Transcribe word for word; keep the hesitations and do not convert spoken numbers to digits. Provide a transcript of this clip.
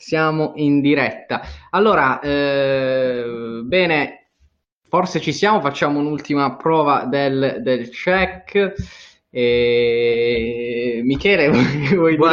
Siamo in diretta. Allora, eh, bene, forse ci siamo, facciamo un'ultima prova del, del check. E... Michele, vuoi, vuoi dire